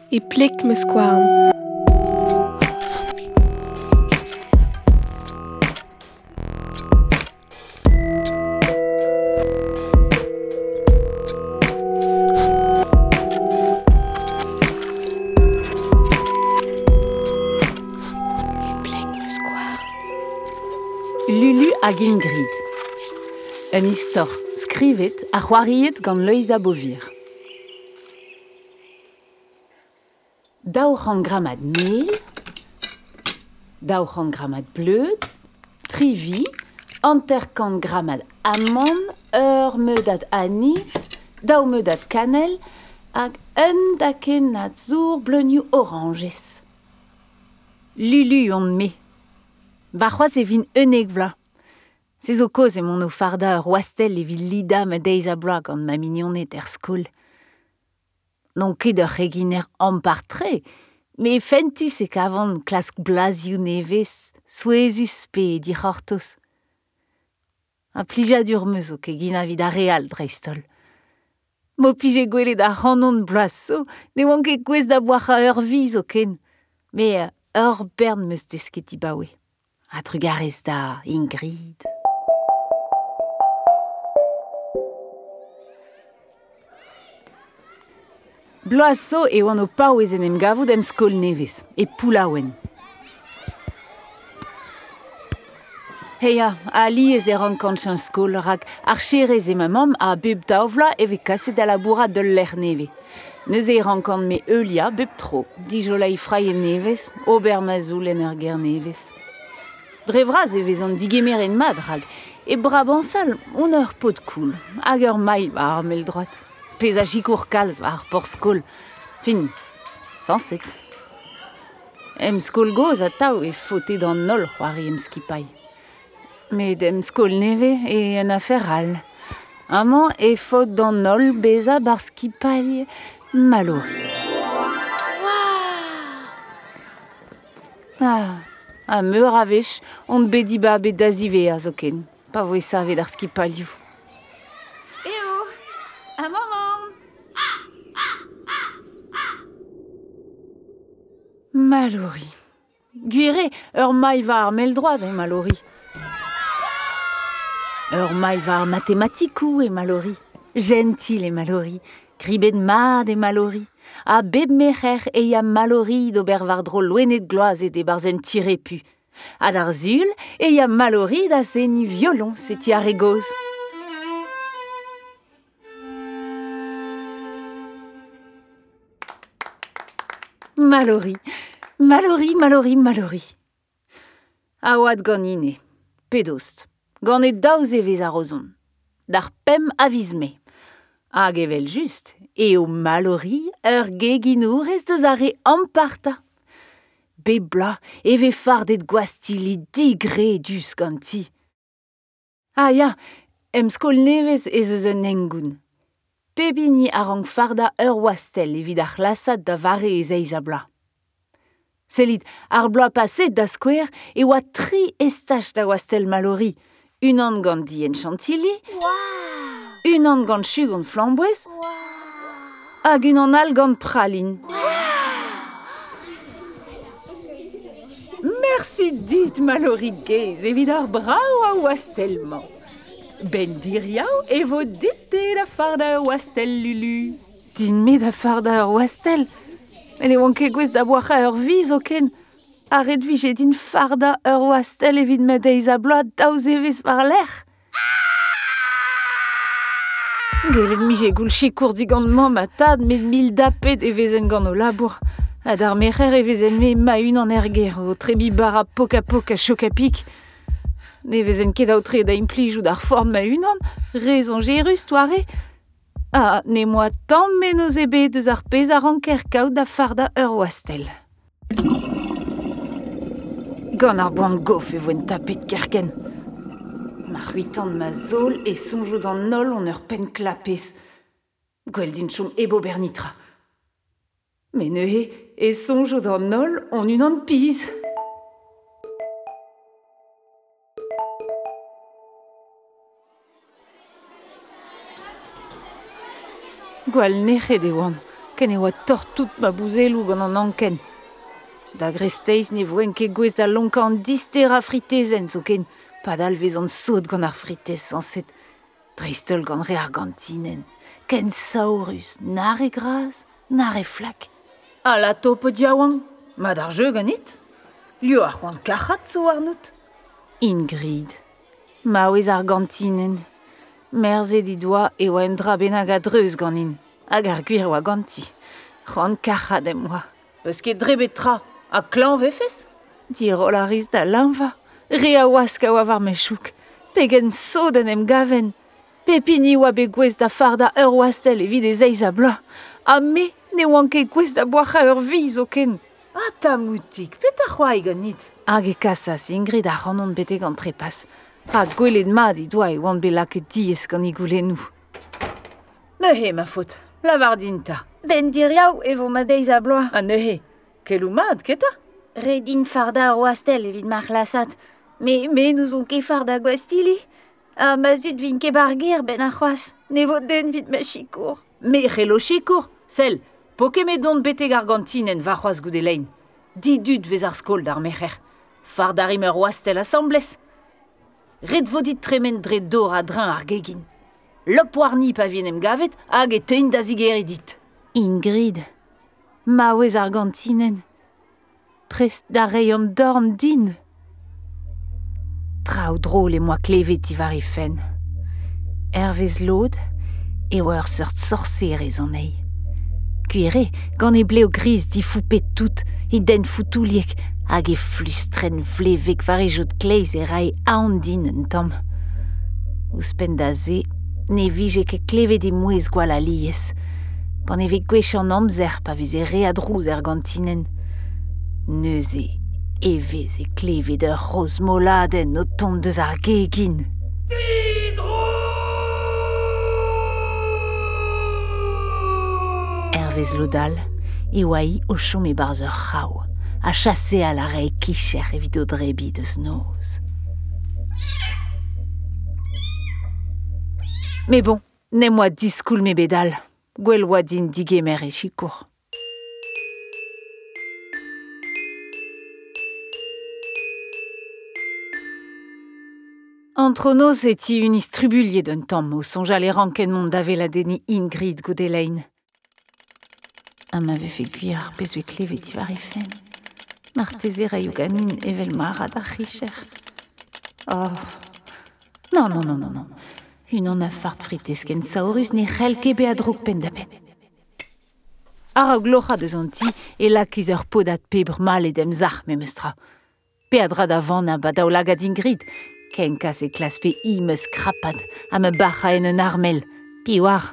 e plek meus skouarn. Lulu hag Ingrid. Un istor skrivet a c'hoariet gant Loïsa Bovir. Daour an gramad mel, daour an gramad bleud, trivi, anterkant gramad amande, meudad anis, daou meudad cannelle, hag daken na zour bleunioù oranges. Lulu on me. Ba c'hoaz e vin unnek vla. Se zo koz e mon o farda ur wastel e vil lida ma deiz a bloaz gant ma mignonnet skol. Non ket ur reginer ampartre, me fentus e kavant klask blazioù nevez, souezus pe dic'hortoz. A plijadur meus o ket gina vid a real dreistol. Mo pije gwelet a c'hanon bloaz so, ne oan ket gwez da boar a ur viz o ken, me ur bern meus desket ibaoe. A trugarez da Ingrid. Bloaz so e oan o paouez en em gavout em skol nevez, e poulaouen. Heya, a liez e rankant chan skol rak ar cherez e ma mam a bep daouvla e vez kaset a labourat dol l'er neve. Neus e rankant me eulia bep tro, dijolai fraien nevez, ober mazoul en ur ger nevez. Dre vraz e vez an digemer en mad rag, e brabansal on ur pot koul, hag ur mail va ar mel droat. Pez a jikour kalz va ar por skol. Fin, sanset. Em skol goz a tao e fote d'an nol c'hoari em skipai. Met em skol neve e en afer all. Amañ e fote d'an nol beza bar skipai malori. A meur a vech, on bediba bet da zive a zo ken. Pa voe savet ar skipalioù. Eo, a maman! Malori. Gwire, ur mail va ar mel droad e malori. Ur mail va ar matematikou e malori. Gentil e malori. Gribet mad e malori. A beb mecher e ya malori d'ober var dro loenet gloaz e de barzen tirepu. A d'ar zul e ya malori da seni violon se ti ar egoz. Malori, malori, malori, malori. A oad gant ine, pedost, gant e daouz e vez a rozon. D'ar pem a viz me. Hag evel just, e o malori ur geginourez deus a re amparta. Bebla e ve fardet gwastili digre dus gant ti. Ah ya, em skol nevez ez eus un engoun. Pebini a rank farda ur wastel evit ar lasad da vare ez eiz a bla. Sellit, ar bla paset da skouer e oa 3 estaj da wastel malori. Un an gant dien chantilly, un an gant chugont flamboez, hag un an all gant praline. Merci dit malori gez evit ar brao a wastelman. Ben diriaou e vo dite da farda ur wastel Lulu. Din me da farda ur wastel? Men e oan ket gwez da boar ur viz o ken. A red vije din farda ur wastel evit ma deiz a bloaz daouz evez par l'er. Gelet mije goul chikour digant mamm a tad met mil dapet e vezen gant o labour. Ha d'ar mecher e vezen me ma un an erger o trebi bara pok a chok a pik. Ne vezen ket aotre da implijoù d'ar forn ma un an, rezon jerus toare. Ah, ne moa tamm men o zebe deus ar pez a ranker kaout da farda ur wastel. Gant ar boan gof e voen tapet kerken. Ma c'huitan ma zol e sonjou d'an nol on ur pen klapez. Gwell din chom ebo bernitra. Men e sonjou d'an nol on un an piz. Gwall nec'het e oan. ken e oa tortout ma bouzelou gant an anken. Da gresteiz ne voen ket gwez da lonkan dister a fritezen, so ken padal vez an saut gant ar fritez sanset. Dreistel gant re argantinen, ken saurus, nar e graz, nar e flak. A la tope diaouan, ma d'ar jeu ganit. Lio ar c'hoant kachat zo arnout. Ingrid, ma oez argantinen. Merze di doa e oa un dra benag a dreuz ganin, hag ar gwir oa ganti. C'hoant kachat em oa. Peus ket drebet tra, a klan vefes? Di rolariz da lanva, re a oask a oa var mechouk. Pegen soden em gaven. Pepini oa be gwez da farda ur oastel evit e zeiz a bloa. A me ne oan ket gwez da boacha ur vi zo ken. Ah, ta moutik, pet a c'hoai ganit. Hag e kasas, Ingrid a c'hanon bete gant trepas. Ha gwelet ma di doa e oan be laket diez gant i goulennou. Neuhe, ma faute, lavar dinta. Ben diriaou e vo ma deiz a bloa. Ah, neuhe, kelou mad, keta? Re din farda ar oastel evit mar lasat. Me nous on ket farda gwastili. A ma zut vin ket barger ben ar c'hoaz. Ne vo den vit ma chikour. Me c'hello chikour, sel, poke me don bete gargantinen va c'hoaz goudelein. Didud vez ar skol d'ar mecher. Farda rim ur oastel assemblez. Red vodit tremen dre dor a drein ar gegin. Lop warni pa vien em gavet hag e tein da zigeri dit. Ingrid, ma oez argantinen. Prest da reion dorn din. Traoù drôle e moa klevet i var e fen. Hervez lod e oa ur seurt sorcerez an ei. Kuire, gant e bleo gris di foupet tout e den foutouliek hag e flustren vlevek var e jod kleiz e rai aon din un tamm. Ouspenn da ze, ne vije ket klevet e mouez gwall a liez. Pan e vez gwech an amzer pa vez e re a drouz argantinen. Neuze e vez e klevet ur roz moladen o tont deus ar gegin. Hervez lodal, e oa i o chom e barz ur c'hao, a chasse a la rei kicher evit o drebi deus noz. Me bon, ne moa diskoul me bedal, gwell oa din digemer e chikour. Entre noz eti un istrubulier d'un tamm o sonjal e ranken mont dave la deni Ingrid goudelein. Ha m'ave fait gwir pezwe klevet i var e fen. Marteze raioù ganin evel marad ar c'hicher. Oh, non. Unan a fart fritez ken saorus ne c'hell ket be a droug pen da pen. Ar a glocha deus an ti e lakiz ur podat pebr mal edem zarh me meustra. Pe a dra da van a badaou lagad Ingrid, ken kas e klas fe i meus krapad a me bacha en un armel. Pi war.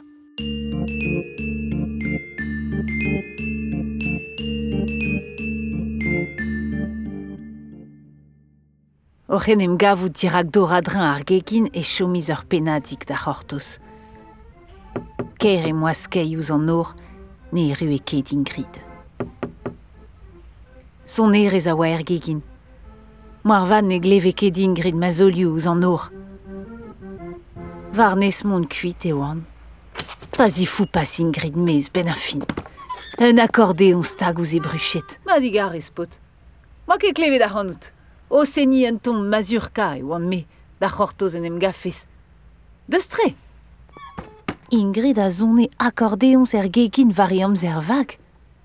Oc'hen em gavout dirak dor a drein ar gegin e chomiz ur penadig da c'hortoz. Ker e moaskei ouz an nor, ne rue ket Ingrid. Son erez a oa er gegin. Moar van ne gleve ket Ingrid ma zolioù ouz an nor. Varnez mont kuit e oan. Pas i fou pas Ingrid mez ben a fin. Un accordéon stag ouz e bruchet. Ma digar espot. Ma ket klevet da c'hanout. O seni un ton mazurka e oan me, da c'hortoz en em gafes. Deus tre. Ingrid a zone accordéons er gegin vari amzer vag.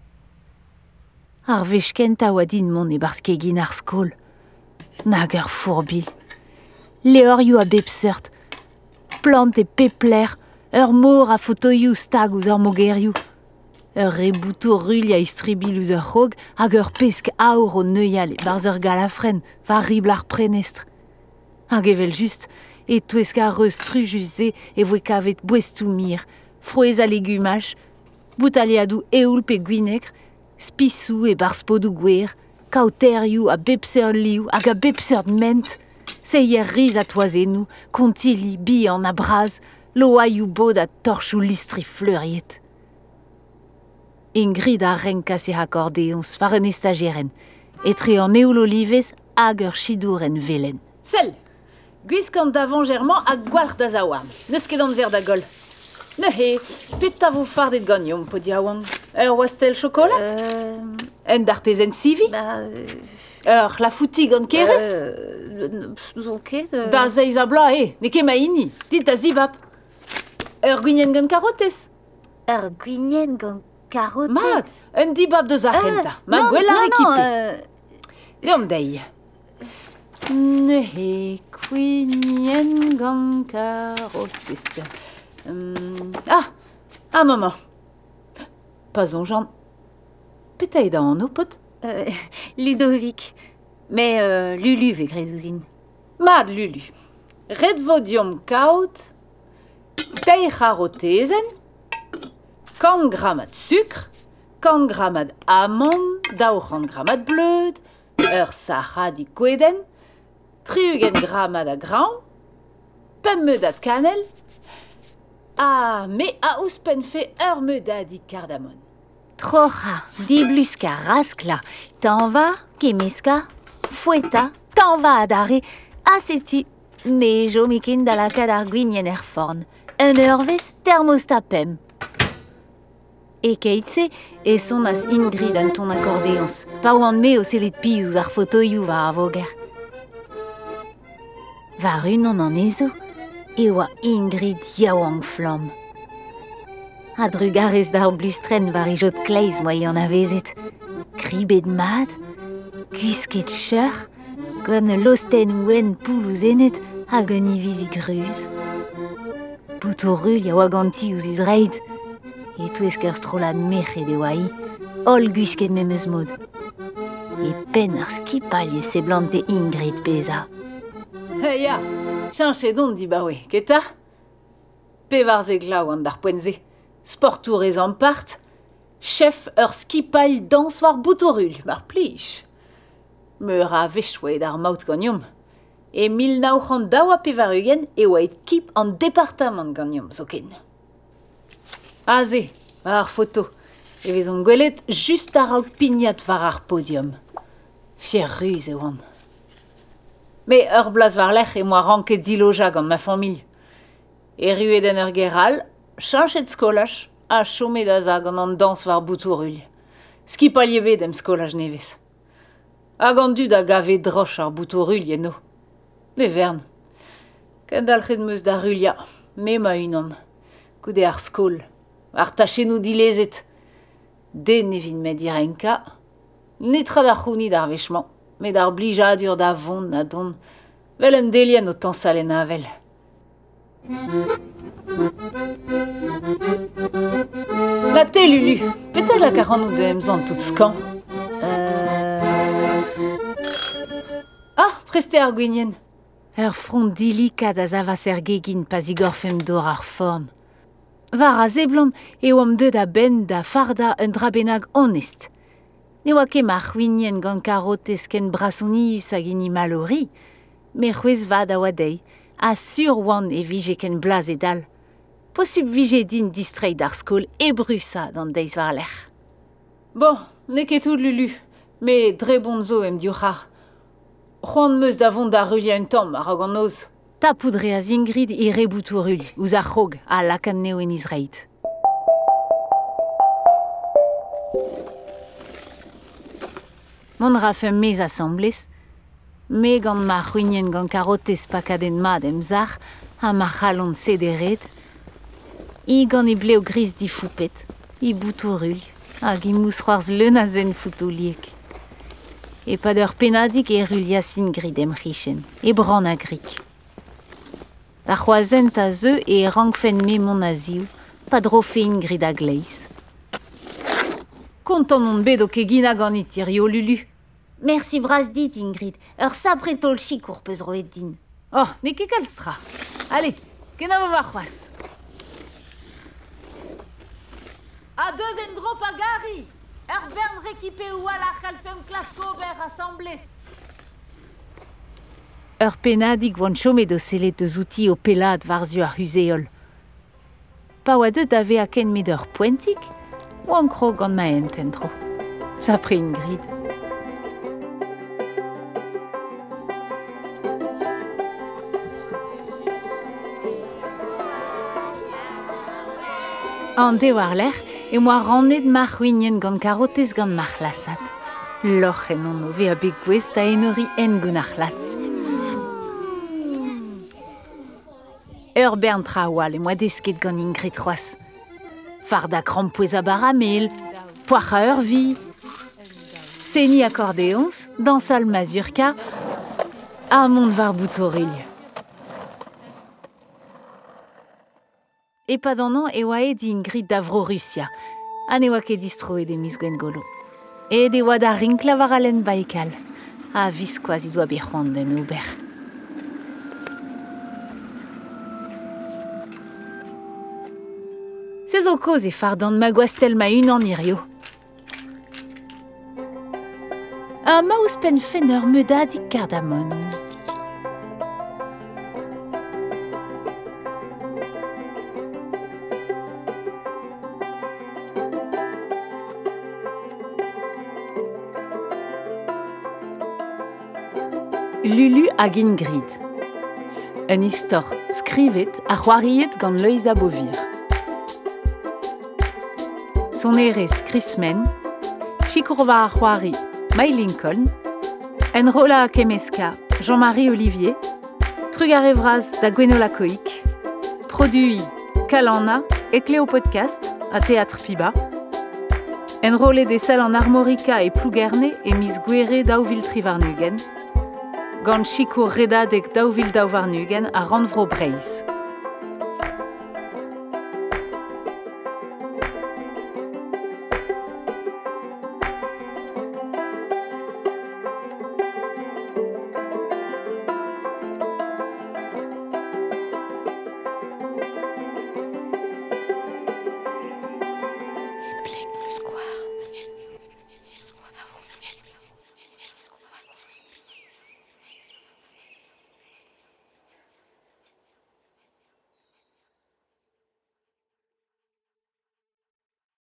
Ar vechkent a oa din mont e barz kegin ar skol. Nag ur fourbil. Leorioù a bep seurt. Plant e pepler, ur mor a fotoioù stag ouz ur mogerioù. Ur reboutou rulli a istribil ouz ur c'hog hag ur pesk aour o neuial e barz ur galafren va ribl ar prenestr. Hag evel just, e touesk a reus trujus e voe kavet bouestou mir, frouez a legumaj, boutaliadou eoul pe gwinegr, spisou e barz podou gwer, kauterioù a bepseur liou hag a bepseur ment, seier riz a toazennou, kontili, bihan a braz, loaioù bod a torchou listri fleuriet. Ingrid a renkas e accordéons war un estageren, etre an eoul olivez hag ur chidour en velen. Sel, gwiskant davon german hag gwalc'h da zaouarn, neus ket amzer da gol. Ne, pet a vo fardet gagnon, po diawang. Wastel chocolat? En d'artesen sivi? La fouti gant keres? Zo ket... Da zeiz a bla, ne ket ma ini. Dit da zibab. Gwinien gant karotes? gwinien gant karotet... Mat, un dibab deus argenta. Ma gwell ar ekipe. Deom dei. Ne, gwinien gant karotes. Maman. Pas on Jean. Peut-être dans nos potes. Ludovic. Mais Lulu ve grezouzine. Mad Lulu. Red vodium kaut. Dei charotesen. 40 grammes de sucre. 40 grammes d'amande. 40 grammes de bleud. Sahara di gweden. 30 grammes de grain. Pemmedat de cannelle. Mais a ouspen fait meudad di cardamone. Trocha, dibluska, raskla, t'en va, kemeska, fouetta, t'en va adare, assetu, nejo mikin da la kadar gwinien forn, un eurves thermostapem. Et keitse, et son as Ingrid an ton accordéons, pa oan me o selet piz ouz ar photoioù va avoger. Va runan an ezo, e oa Ingrid yaouang flam. A drugarez d'ar blustren var ijot kleiz moa an avezet. Kribet mad, gusket cheur, gant losten ouen poulouzenet hag un ivizi gruz. Boutourul ya oa ganti ouz izreid, e touesk ur strolad merc'hed e oa hi, ol gusket memeus mod. E pen ar skipal ye seblante Ingrid beza. Ya, chanche don di bawe, keta? Pe var ze glaou an d'ar poenze. Sportourez en part, chef ur skipal dans war boutourul, mar plij. Meur a vechouet ar maout gagnom. E 1900 daoa pe var ugen e oa et kip an departament gagnom zoken. Aze, war ar photo. E vezon gwelet just a raout pignat war ar podium. Fier ruz e oan. Me ur blaz war lech e moa ranket diloja gant ma familh. E ruet en ur geral, chanchet skolaj, a chomet da zag an dans war boutourul. Skipal ye bet em skolaj nevez. Hag an dud a gave droch ar boutourul no. Ne vern. Kendalc'het meus da rulia, me ma unan. Goude ar skol, ar tachenou dilezet. De ne vin met direnka, netra da c'houni d'ar vechman, met ar blijadur da vont na don, vel un delien o tañsal en avel. La te, Lulu, petra la karannou de emzan tout skan. Preste ar gwinien. Ur front dilikat a zavas er gegin pas igor fem dor ar forn. Var a zeblant e oam deud a ben da farda un drabenag honest. Ne oa ket ma c'hwinien gant karotez ken brasonius hag ini malori, me c'hwez vad a oa dei, a sur oan e vije ken blaz e dal. Posub vije din distreiñ d'ar skol e brusa d'an deiz war l'er. Bon, ne ket tout Lulu, me dre bon zo em diouchar. C'hoant meus da vont da rulia un tamm a rag an oz. Ta poudre a Ingrid e reboutourul, ouz ar c'hog a lakan neo en Izraid. Mon rafem mez assemblez, me gant ma c'hwinien gant karotez pakaden mad emzar, ha ma c'halon sederet, i gant e bleo gris di foupet, i boutourul, hag i mousc'hoarz leun a zen foutouliek. E pad ur penadig e rulias Ingrid em c'hichen, e bran a grik. Da c'hoazent a zeu e rangfen me mon a ziou, pa drofe Ingrid a gleiz. Kontant on bet o kegina ganit irio Lulu. Merci bras dit, Ingrid. Ur sapretol chikour peus roet din. Oh, ne ket kalstra. Allez, ken a vo war c'hoaz. A deus en drop a gari. Ur bern rekipe oa la c'halfem klasko ber assemblez. Ur penadig oan chomet o selet deus outi o pelad warzu ar huzeol. Pa oa deud ave a ken met ur poentik, oan kro gant ma ententro. Sapre Ingrid. An de war l'er, e moa rannet mar c'hwinien gant karotez gant mar lasat. Loch en on ove a bet gwez da enori en gant ar las. Ur bern tra oal e moa desket gant Ingrid c'hoaz. Fard a krampouez a baramel, poac'h a ur vi, seni accordéons, dansal mazurka, a mont var boutoril. E pad an an e oa e di Ingrid da vro Russia, ha ne oa ket distroet e miz Gwen Golo. E de oa da rinkla war a lenn Baikal, ha viskoaz i doa bet c'hoant den ober. Se zo koz e fardan ma gwastel ma unan irio. Ha ma ouspenn fenn ur meudadig kardamon. Lulu hag Ingrid. Un istor skrivet a c'hoariet gant Leuza Bovir. Son erez Chrismen, chikourva a c'hoari May Lincoln, en rola a kemeska Jean-Marie Olivier, trug a revraz da Gwenola Coic, produit Kalana et Cléo Podcast a Théâtre Piba, en role des salles en armorica et plougerne et Miss Guere d'Auvil Trivarnugen, gant chikour redadeg d'Auvil d'Auvarnugen a Ranvro Breiz.